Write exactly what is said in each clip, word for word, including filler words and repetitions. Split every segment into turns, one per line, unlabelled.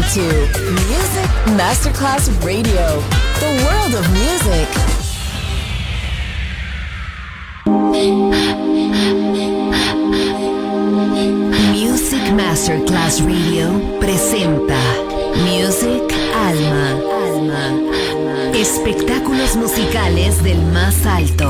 to Music Masterclass Radio, the world of music. Music Masterclass Radio presenta Music Alma. Alma. Espectáculos musicales del más alto.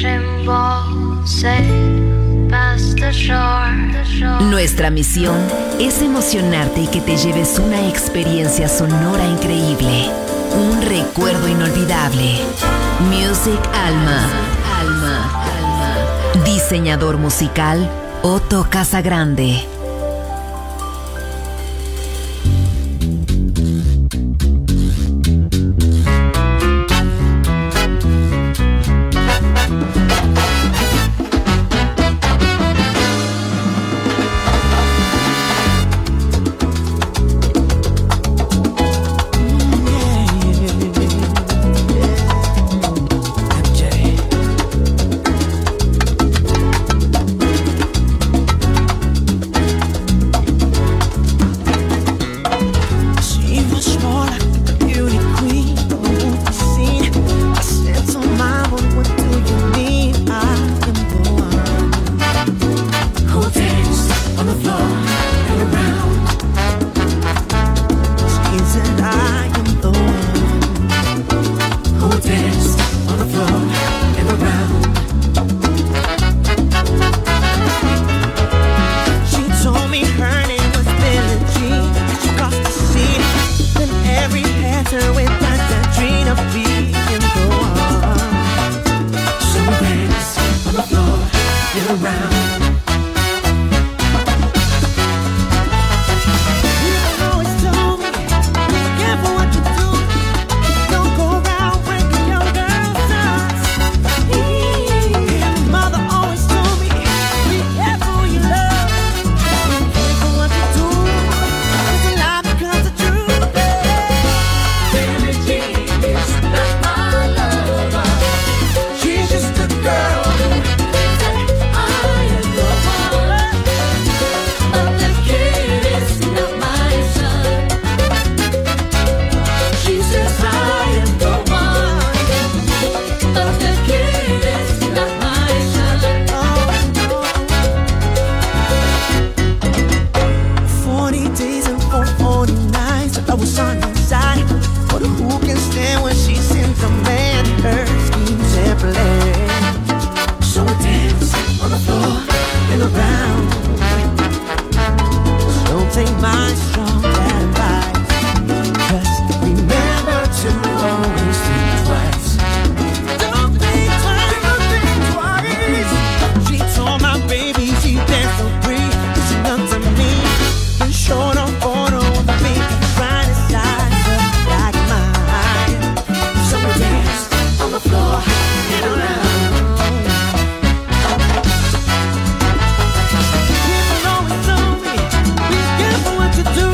Nuestra misión es emocionarte y que te lleves una experiencia sonora increíble, un recuerdo inolvidable. Music Alma. Alma. Alma. Diseñador musical Otto Casagrande.
To do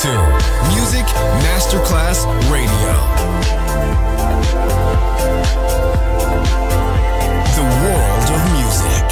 to Music Masterclass Radio. The world of music.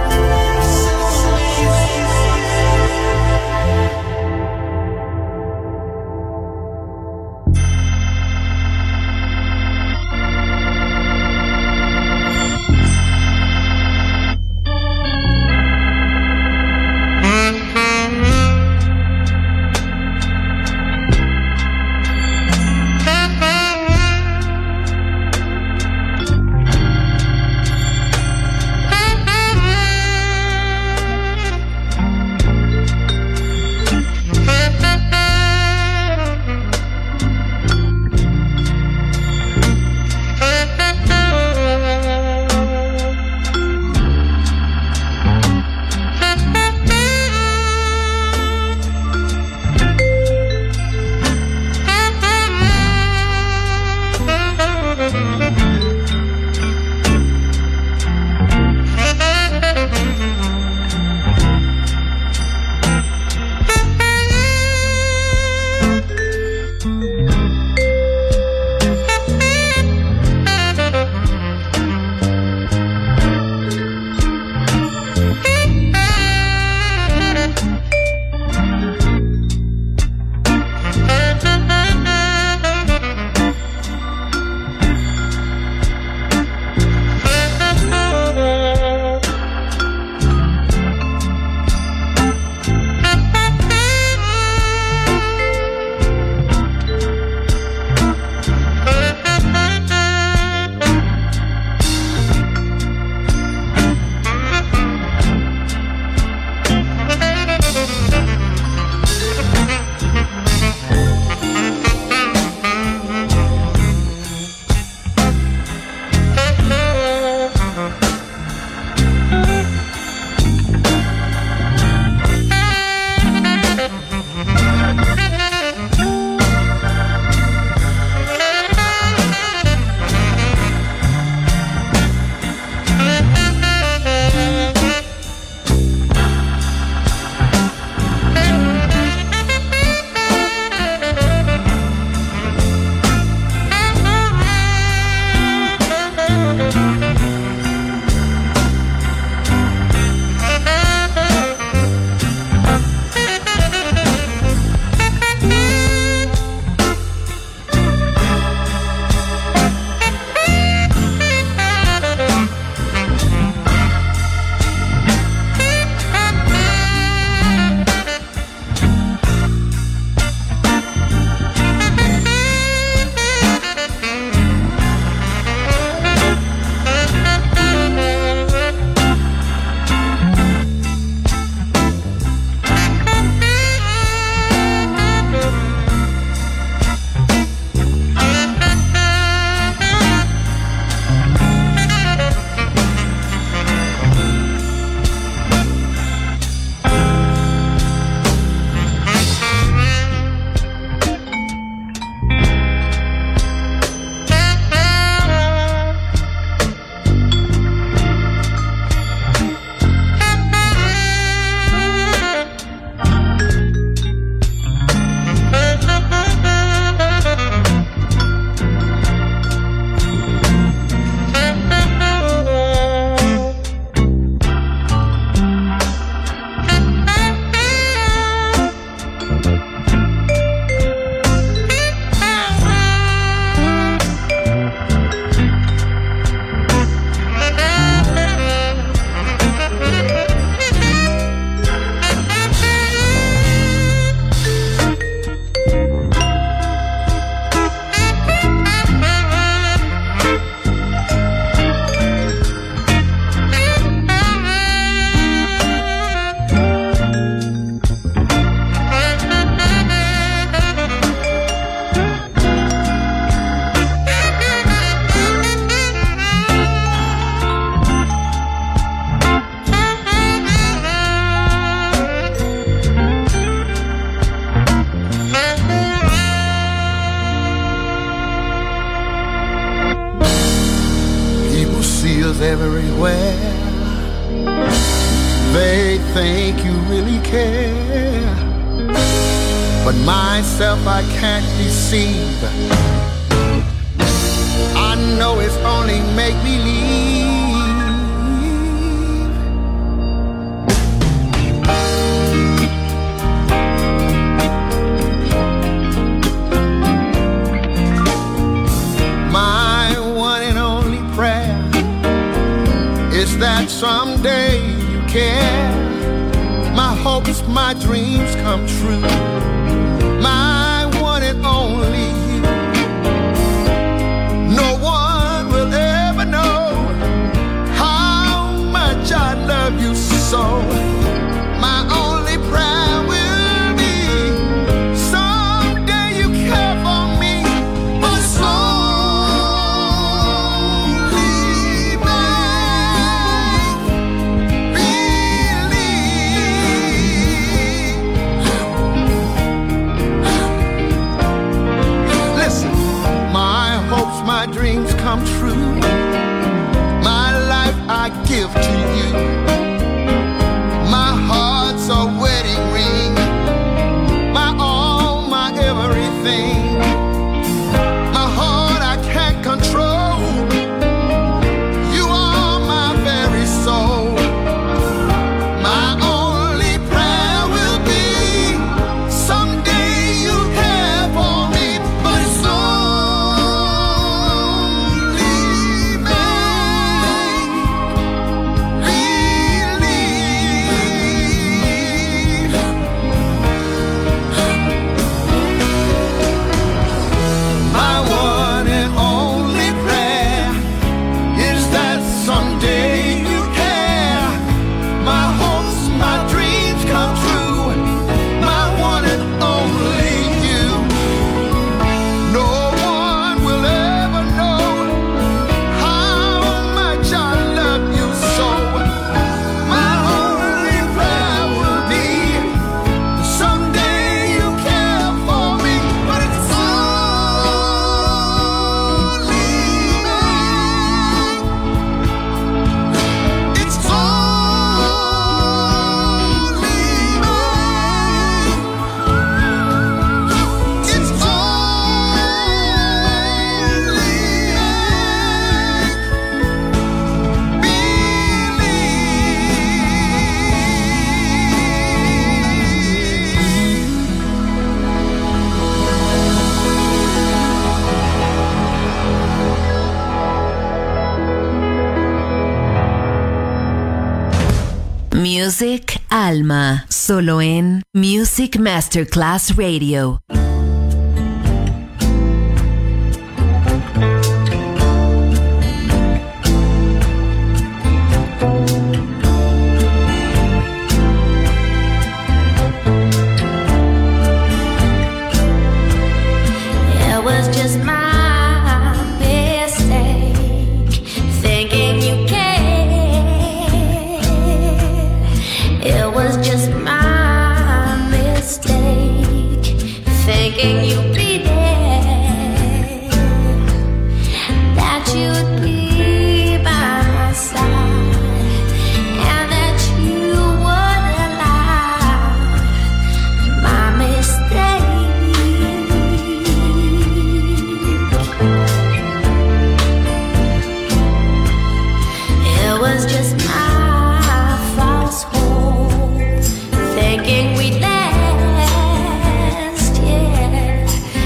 is everywhere. They think you really care, but myself I can't deceive. I know it's only make believe. My one and only prayer is that someday you care. My hopes, my dreams come true. My one and only you. No one will ever know how much I love you so. My only prayer will be someday you care for me. But it's only make believe. Listen, my hopes, my dreams come true. My life I give to you. My heart's a wedding ring. My all, my everything. My heart I can't control. You are my very soul. My only prayer will be someday you care for me. But it's only make believe. My one and only prayer is that someday you care. My hopes, my dreams come true. My one and only you. No one will ever know how much I love you so. My only prayer will be someday you care for me. But it's only make. It's only make. It's
Music Alma, solo en Music Masterclass Radio.
It was just my mistake, thinking you cared. It was just my mistake, thinking you'd be there, that you'd be by my side, and that you would allow my mistake. It was just my false hope, thinking we'd last, yeah.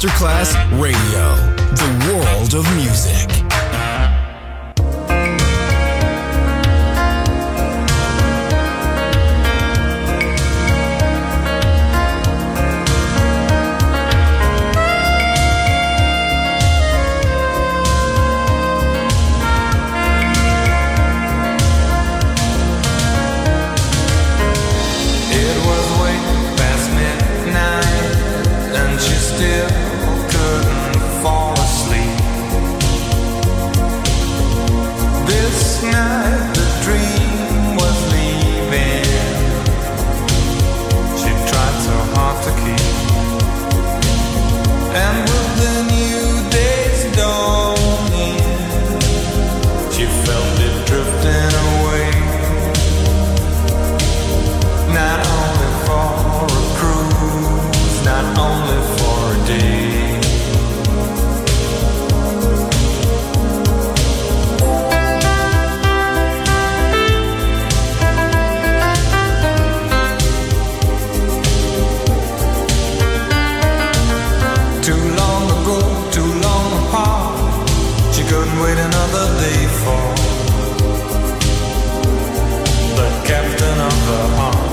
Masterclass Radio, the world of music.
Still couldn't fall asleep. This night the dream was leaving. She tried so hard to keep. And with the new day's dawning, she felt it drifting away. Not only for a cruise, not only for a day. Too long ago, too long apart, she couldn't wait another day for the captain of her heart.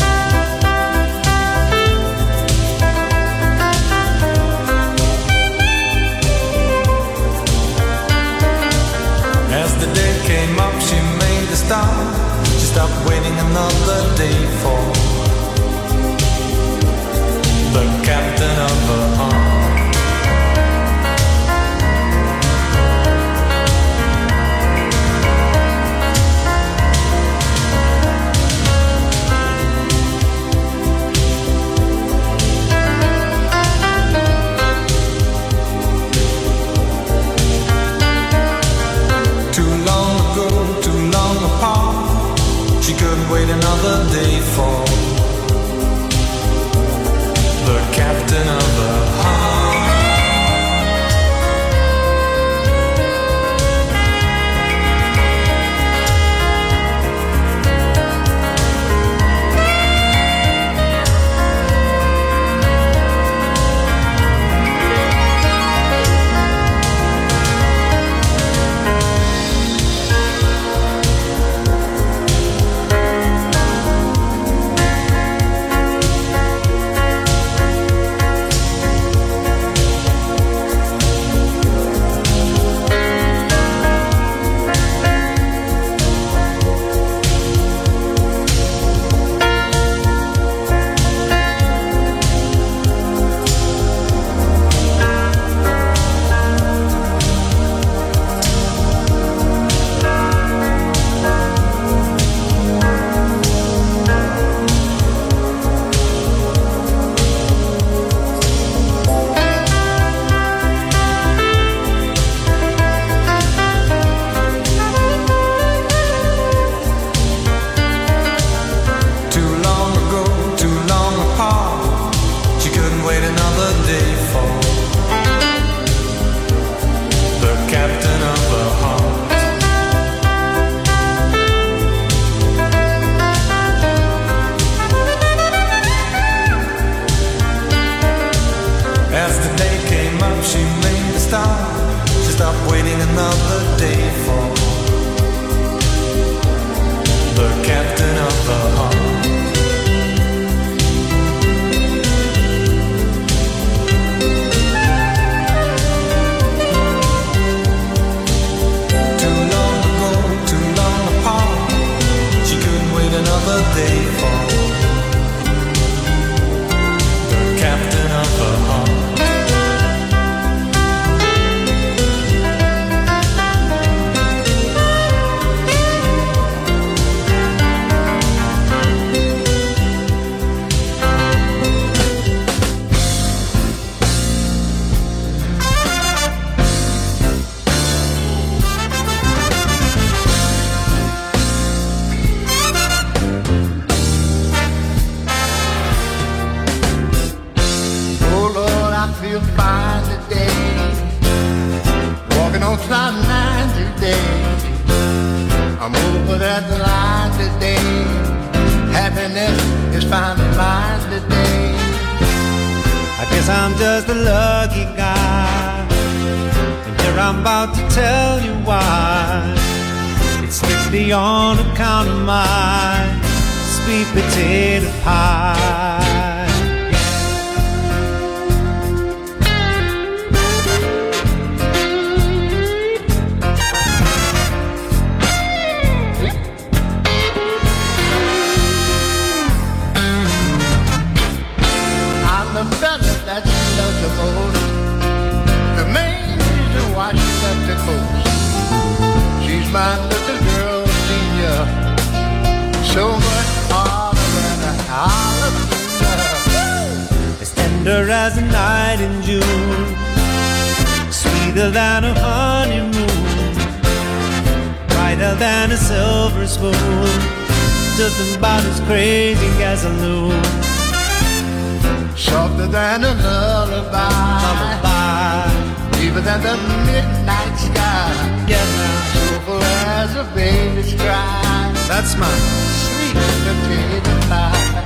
As the day came up, she made a stop. She stopped waiting another day for the captain of her heart. She couldn't wait another day for the captain of the heart.
guess I'm just a lucky guy. And here I'm about to tell you why. It's strictly on account of my sweet potato pie.
The fella that she loves the most, the main reason why she left the coast. She's my little girl, senior, so much harder than a jalapeno.
As tender as a night in June, sweeter than a honeymoon, brighter than a silver spoon, just about as crazy as a loon.
Softer than a lullaby,
lullaby.
Deeper than the midnight sky,
yeah, now.
Soulful as a baby's cry.
That's my
sweet potato pie.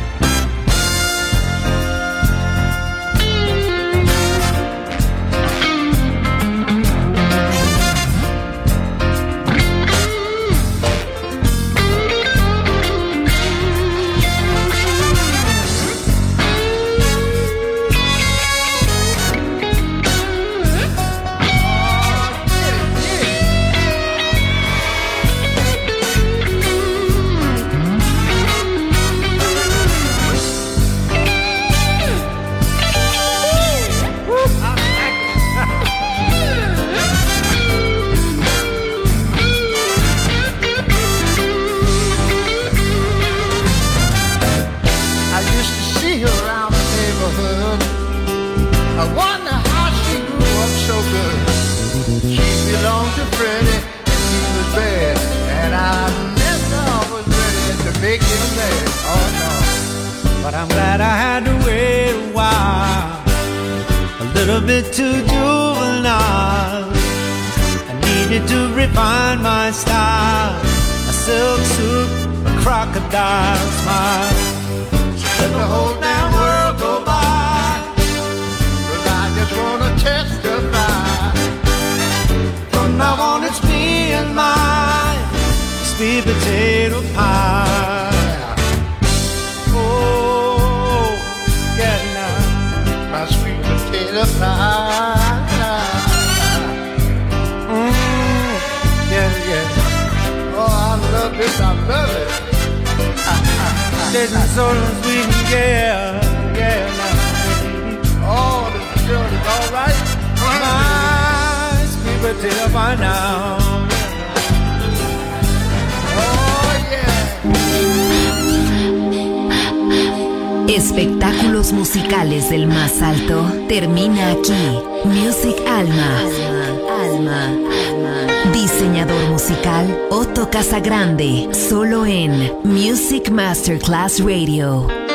Too juvenile, I needed to refine my style. A silk suit, a crocodile smile. Let the whole damn world go by,
'cause I just wanna testify.
From now on it's me and my sweet potato pie. Oh, yeah now,
my sweet potato pie. I love it.
Tasting so sweet and yeah, yeah, now.
Oh, this girl is all right.
My sweet potato pie now.
Oh, yeah.
Espectáculos musicales del más alto termina aquí. Music Alma. Alma. Alma. Diseñador musical Otto Casagrande, solo en Music Masterclass Radio.